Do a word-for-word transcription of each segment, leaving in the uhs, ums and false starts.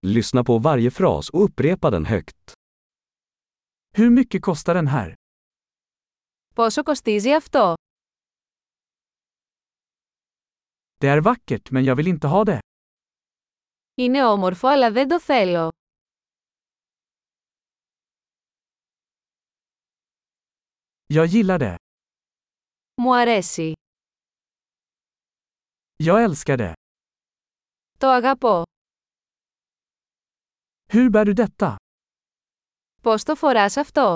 Lyssna på varje fras och upprepa den högt. Hur mycket kostar den här? Πόσο κοστίζει αυτό? Det är vackert men jag vill inte ha det. Είναι όμορφο αλλά δεν το θέλω. Jag gillar det. Μου αρέσει. Jag älskar det. Το αγαπώ. Hur bär du detta? Πώς το φοράς αυτό?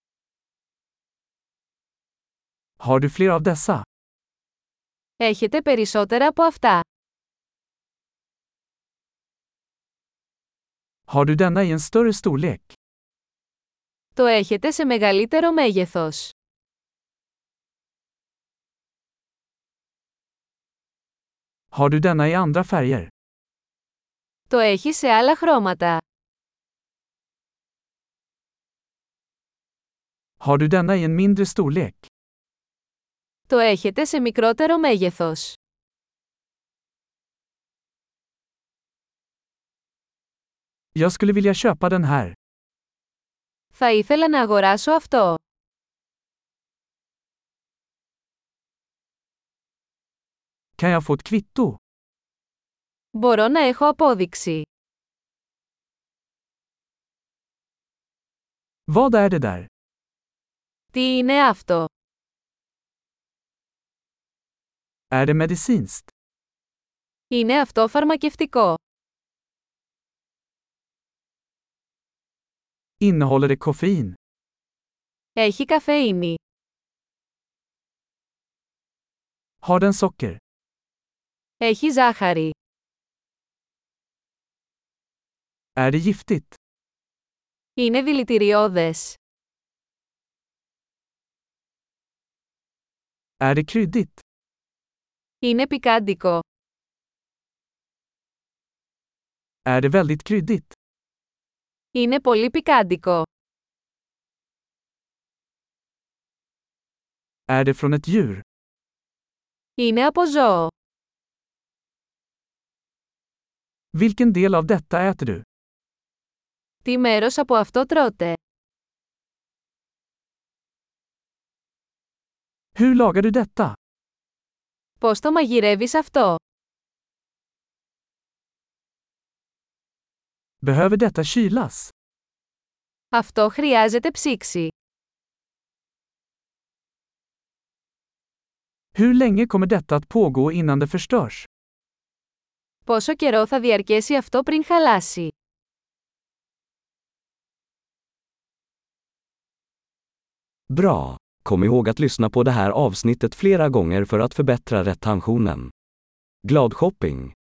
Har du fler av dessa? Έχετε περισσότερα από αυτά. Har du denna i en större storlek? Το έχετε σε μεγαλύτερο μέγεθος. Har du denna i andra färger? Το έχει σε άλλα χρώματα. Har du denna i en mindre storlek? Το έχετε σε μικρότερο μέγεθος. Jag skulle vilja köpa den här. Θα ήθελα να αγοράσω αυτό. Kan jag få ett kvitto? Μπορώ να έχω απόδειξη. Vad är det där? Τι είναι αυτό? Är det medicinskt? Είναι αυτό φαρμακευτικό? Innehåller det koffein? Έχει καφεΐνη? Har den socker? Έχει ζάχαρη? Är det giftigt? Είναι δηλητηριώδες? Är det kryddigt? Είναι πικάντικο? Är det väldigt kryddigt? Είναι πολύ πικάντικο? Är det från ett djur? Είναι από ζώο? Vilken del av detta äter du? Τι μέρος από αυτό τρώτε? Hur lagar du detta? Πώς το μαγειρεύεις αυτό? Behöver detta kylas? Αυτό χρειάζεται ψήξη. Hur länge kommer detta att pågå innan det förstörs? Πόσο καιρό θα διαρκέσει αυτό πριν χαλάσει? Bra! Kom ihåg att lyssna på det här avsnittet flera gånger för att förbättra retentionen. Glad shopping!